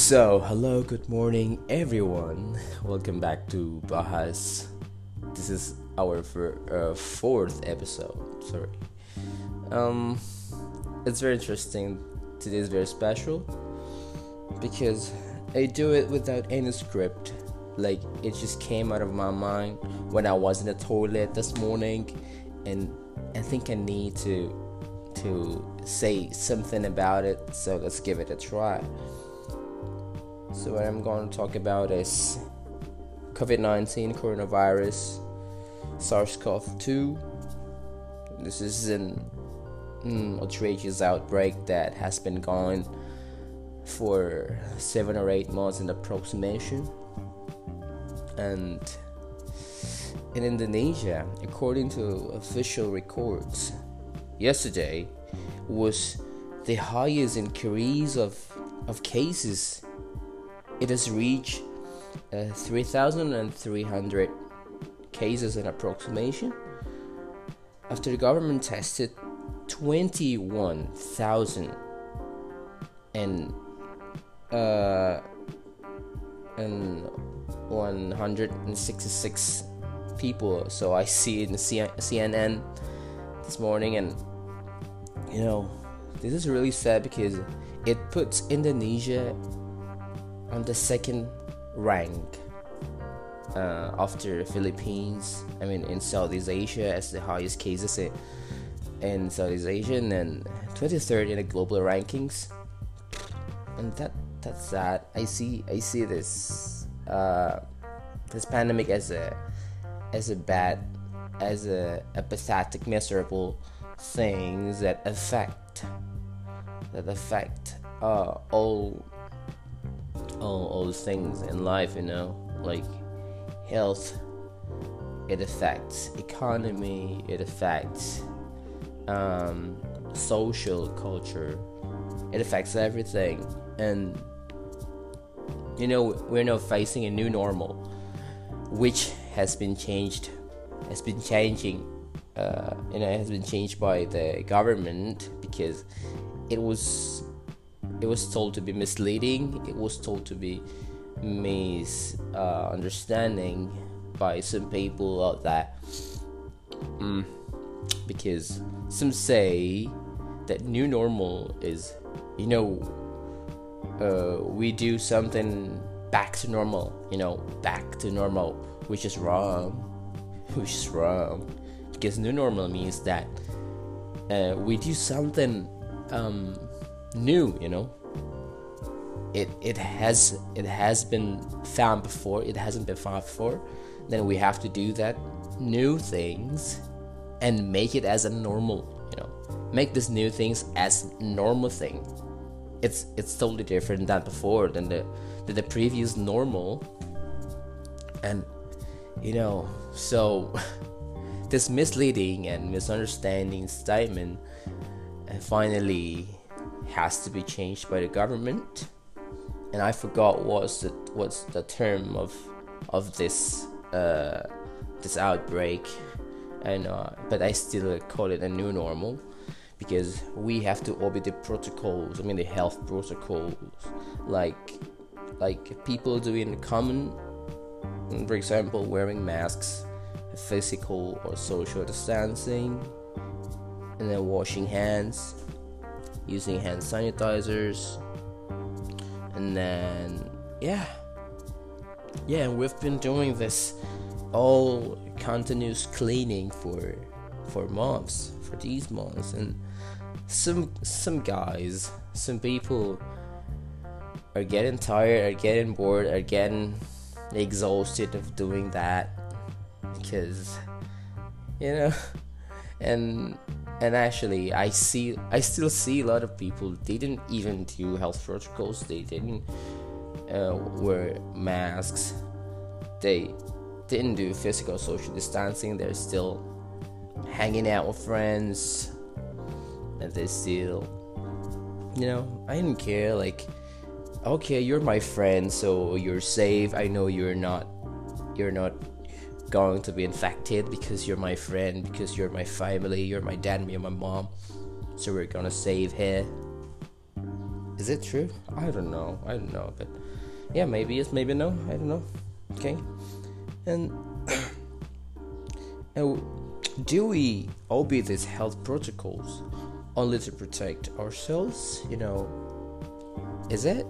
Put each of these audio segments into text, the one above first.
Hello, good morning, everyone. Welcome back to Bahas. This is our fourth episode. Sorry. Um, it's very interesting. Today is very special because I do it without any script. Like it just came out of my mind when I was in the toilet this morning, and I think I need to say something about it. So let's give it a try. So what I'm going to talk about is COVID-19, coronavirus, SARS-CoV-2. This is an outrageous outbreak that has been going for 7 or 8 months in approximation. And in Indonesia, according to official records, yesterday was the highest increase of cases. It has reached 3,300 cases in approximation after the government tested 21,000 and 166 people. So I see it in CNN this morning, and this is really sad because it puts Indonesia on the second rank after the Philippines. In Southeast Asia as the highest cases in Southeast Asia, and then 23rd in the global rankings. And that's sad. I see this pandemic as a pathetic, miserable things that affect all things in life, like health. It affects economy, it affects social culture, it affects everything. And we're now facing a new normal, which has been changing. It has been changed by the government because it was told to be misleading. It was told to be misunderstanding by some people out there. Because some say that new normal is, we do something back to normal, which is wrong. Because new normal means that we do something new. It has been found before. It hasn't been found before. Then we have to do that new things and make it as a normal. Make this new things as normal thing. It's totally different than before, than the previous normal. And so this misleading and misunderstanding statement finally has to be changed by the government. And I forgot what's the term of this outbreak, and but I still call it a new normal because we have to obey the protocols. The health protocols, like people do in common. For example, wearing masks, physical or social distancing, and then washing hands, using hand sanitizers, and then we've been doing this all continuous cleaning for these months. And some people are getting tired, are getting bored, are getting exhausted of doing that because and actually I still see a lot of people, they didn't even do health protocols. They didn't wear masks, they didn't do physical social distancing. They're still hanging out with friends, and they still I didn't care. Like, okay, you're my friend, so you're safe. I know you're not going to be infected because you're my friend, because you're my family, you're my dad, me and my mom, so we're gonna save her. Is it true? I don't know, but yeah, maybe yes, maybe no, I don't know. Okay. And uh, do we obey these health protocols only to protect ourselves? Is it?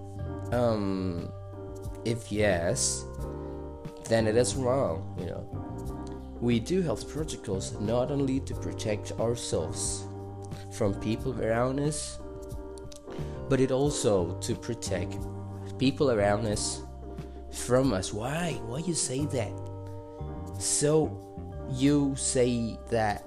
If yes, then it is wrong. We do health protocols not only to protect ourselves from people around us, but it also to protect people around us from us. Why you say that? So you say that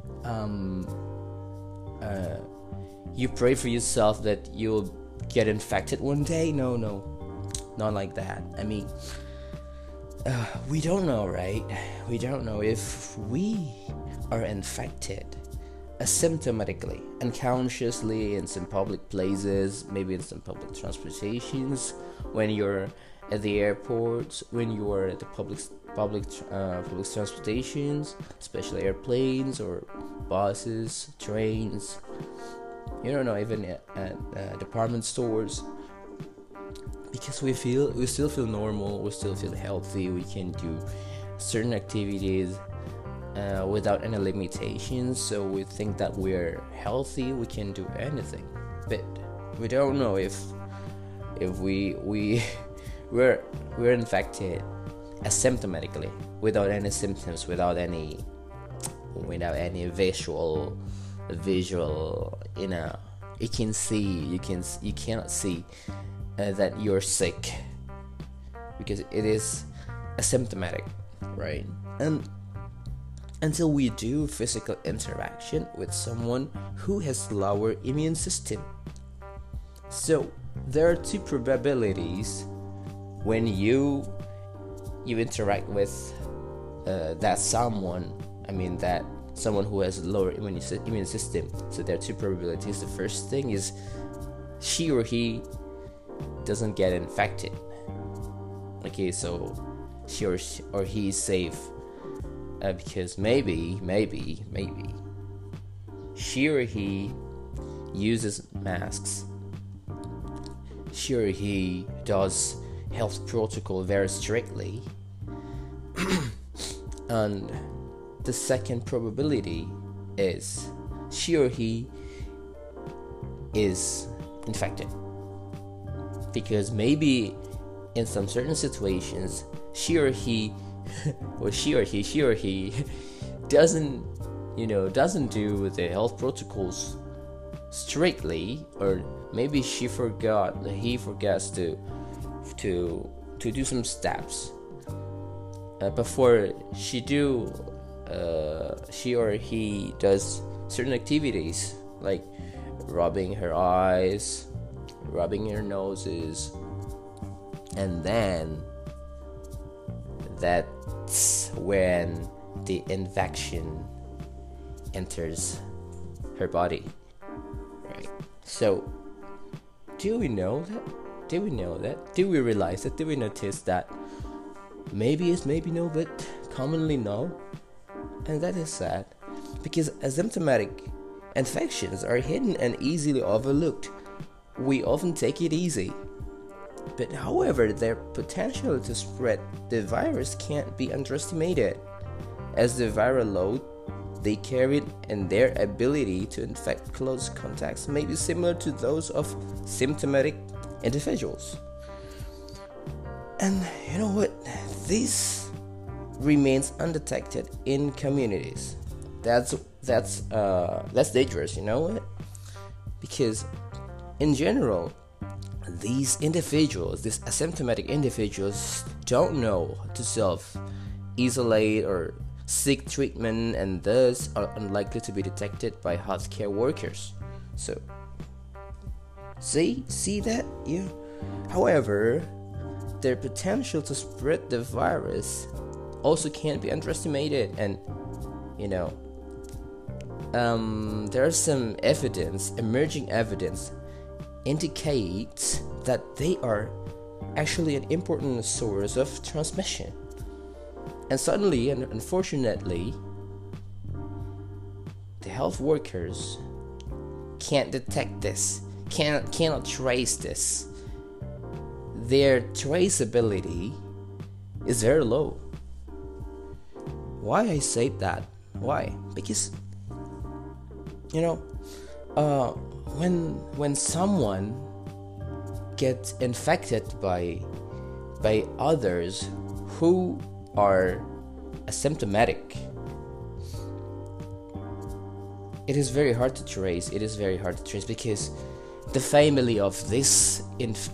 you pray for yourself that you'll get infected one day? No, not like that. I mean, we don't know, right? We don't know if we are infected asymptomatically, unconsciously, in some public places, maybe in some public transportations, when you're at the airports, when you are at the public transportations, especially airplanes or buses, trains. You don't know, even at department stores, because we still feel normal, we still feel healthy, we can do certain activities without any limitations. So we think that we're healthy, we can do anything, but we don't know if we're infected asymptomatically, without any symptoms, without any visual, you cannot see that you're sick, because it is asymptomatic, right? And until we do physical interaction with someone who has lower immune system. So there are two probabilities when you interact with that someone. I mean, that someone who has lower immune system. So there are two probabilities. The first thing is she or he doesn't get infected. Okay, so she or he is safe, because maybe she or he uses masks. She or he does health protocol very strictly. And the second probability is she or he is infected, because maybe in some certain situations she or he doesn't do the health protocols strictly, or maybe he forgets to do some steps before she or he does certain activities, like rubbing her eyes, rubbing her noses, and then that's when the infection enters her body, right? So do we know that? Do we realize that? Do we notice that? Maybe yes, maybe no, but commonly no. And that is sad, because asymptomatic infections are hidden and easily overlooked. We often take it easy. But however, their potential to spread the virus can't be underestimated, as the viral load they carry and their ability to infect close contacts may be similar to those of symptomatic individuals. And you know what? This remains undetected in communities. That's dangerous, you know what? Because in general, these asymptomatic individuals, don't know to self-isolate or seek treatment, and thus are unlikely to be detected by healthcare workers. So, see that? Yeah. However, their potential to spread the virus also can't be underestimated, and there's some emerging evidence indicates that they are actually an important source of transmission. And suddenly, and unfortunately, the health workers can't detect this, cannot trace this. Their traceability is very low. Why I say that? Why? Because when someone gets infected by others who are asymptomatic, it is very hard to trace. Because the family of this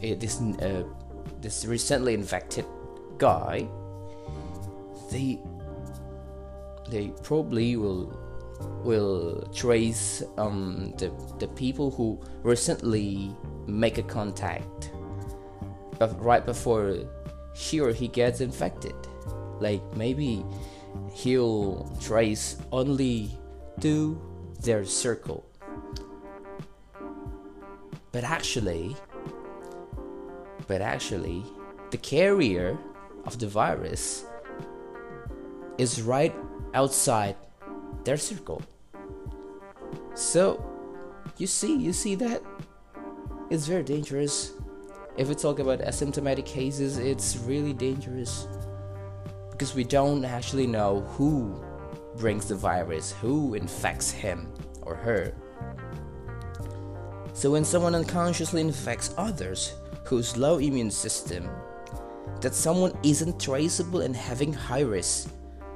recently infected guy, they probably will trace the people who recently make a contact right before she or he gets infected. Like maybe he'll trace only to their circle, but actually the carrier of the virus is right outside their circle. So you see that it's very dangerous. If we talk about asymptomatic cases, it's really dangerous because we don't actually know who brings the virus, who infects him or her. So when someone unconsciously infects others whose low immune system, that someone isn't traceable and having high risk,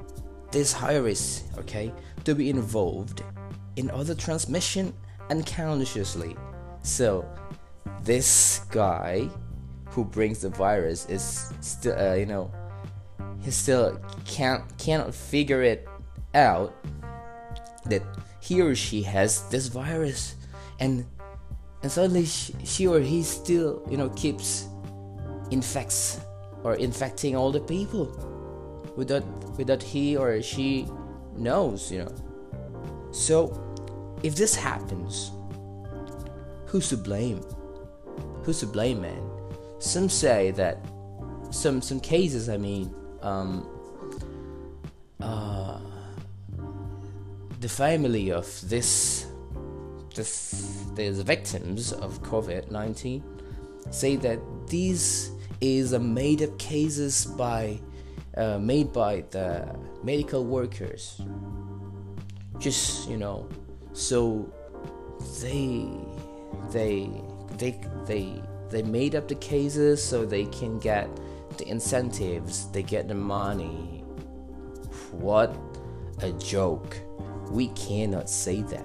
to be involved in other transmission unconsciously. So this guy who brings the virus is still, he still cannot figure it out that he or she has this virus, and suddenly she or he still keeps infecting all the people without he or she knows. So if this happens, who's to blame, man? Some say that some cases, the family of the victims of COVID-19 say that these is a made-up cases made by the medical workers. Just so they made up the cases so they can get the incentives, they get the money. What a joke. We cannot say that.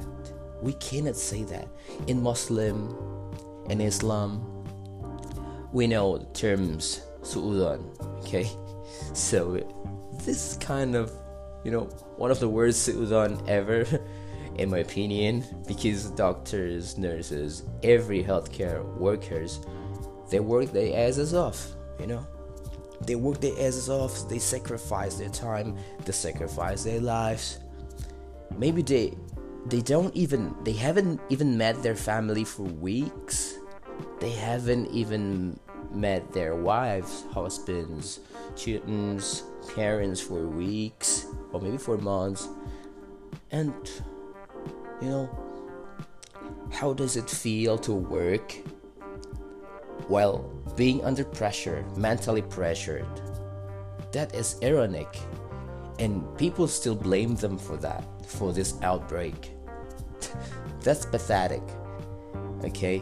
In Muslim and Islam, we know the terms su'udhan, okay? So this is kind of one of the worst su'udhan ever in my opinion, because doctors, nurses, every healthcare workers, they work their asses off. They work their asses off. They sacrifice their time, they sacrifice their lives. Maybe they haven't even met their family for weeks. They haven't even met their wives, husbands, children, parents for weeks, or maybe for months. And how does it feel to work while being under pressure, mentally pressured? That is ironic, and people still blame them for this outbreak. That's pathetic. Okay,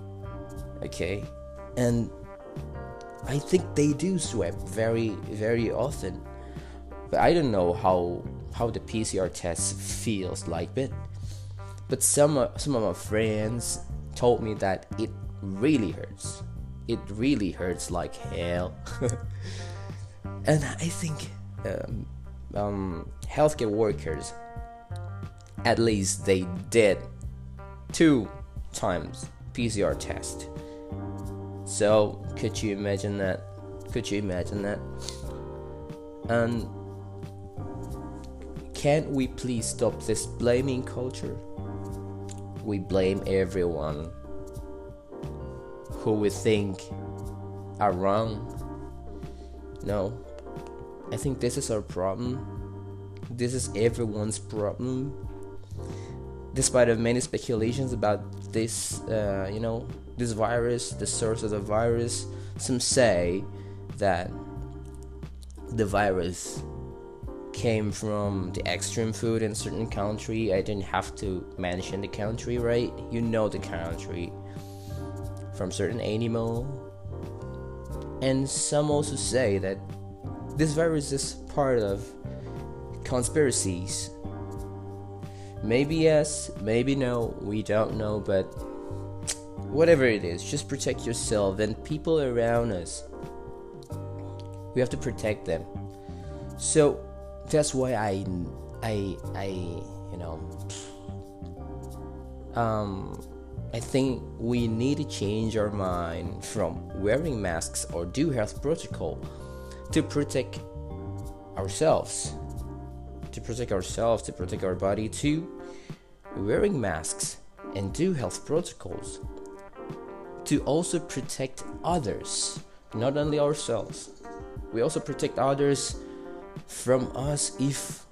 and I think they do sweat very, very often, but I don't know how the PCR test feels like, but some of my friends told me that it really hurts. It really hurts like hell. And I think healthcare workers, at least they did 2 times PCR test. So could you imagine that? And can't we please stop this blaming culture? We blame everyone who we think are wrong. No, I think this is our problem. This is everyone's problem. despite of many speculations about this, this virus, the source of the virus, some say that the virus came from the extreme food in a certain country. I didn't have to mention the country, right? You know the country. From certain animal. And some also say that this virus is part of conspiracies. Maybe yes, maybe no, we don't know, but whatever it is, just protect yourself and people around us. We have to protect them. So that's why I think we need to change our mind from wearing masks or do health protocol to protect ourselves, to protect our body, to wearing masks and do health protocols to also protect others, not only ourselves. We also protect others from us if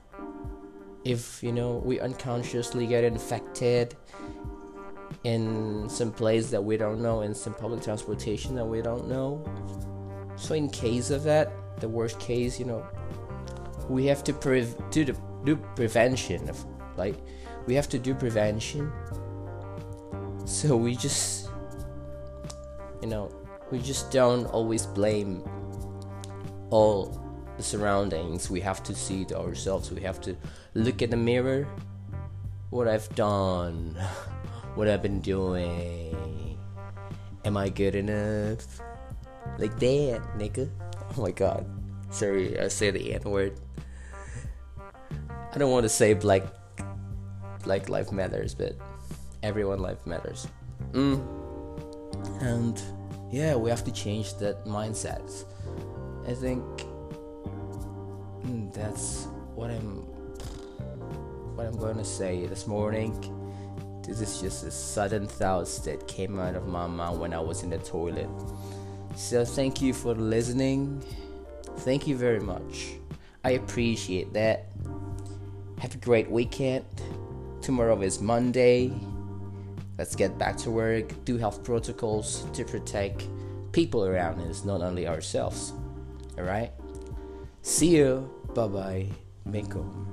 we unconsciously get infected in some place that we don't know, in some public transportation that we don't know. So in case of that, the worst case, we have to do prevention of, like, we have to do prevention. So we just don't always blame all the surroundings. We have to see it ourselves. We have to look in the mirror. What I've done, what I've been doing. Am I good enough? Like that, nigga. Oh my god. Sorry, I say the N-word. I don't want to say black life matters, but everyone life matters. And yeah, we have to change that mindset. I think that's what I'm going to say this morning. This is just a sudden thoughts that came out of my mind when I was in the toilet. So thank you for listening. Thank you very much. I appreciate that. Have a great weekend. Tomorrow is Monday. Let's get back to work. Do health protocols to protect people around us, not only ourselves. Alright? See you. Bye bye. Minkum.